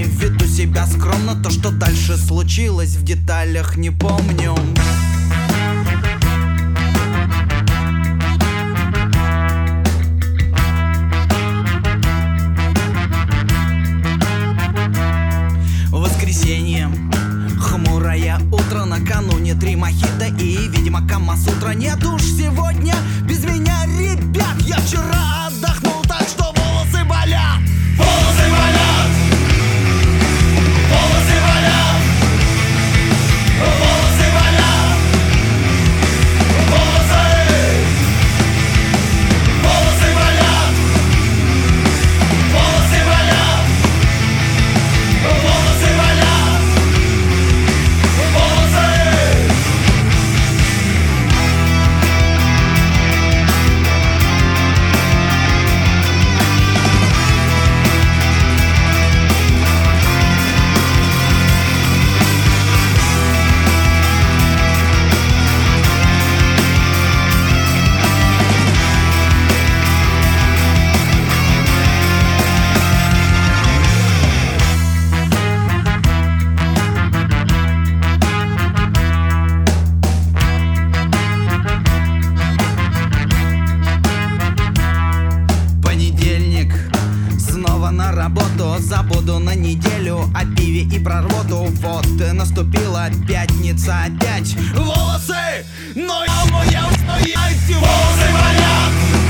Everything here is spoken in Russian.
времени. Веду себя скромно, то, что дальше случилось, в деталях не помню. Воскресенье, хмурое утро, накануне 3 мохито и, видимо, Камасутра. Нет уж сегодня без меня, ребят. Я вчера отдохнул, так что волосы болят. Волосы болят. Волосы болят. Волосы болят. Волосы. Волосы болят. Волосы болят. Волосы болят. Волосы. Понедельник, снова на работу. Забуду на неделю о пиве и про рвоту. Вот и наступила пятница опять. Волосы, но я волосы болят.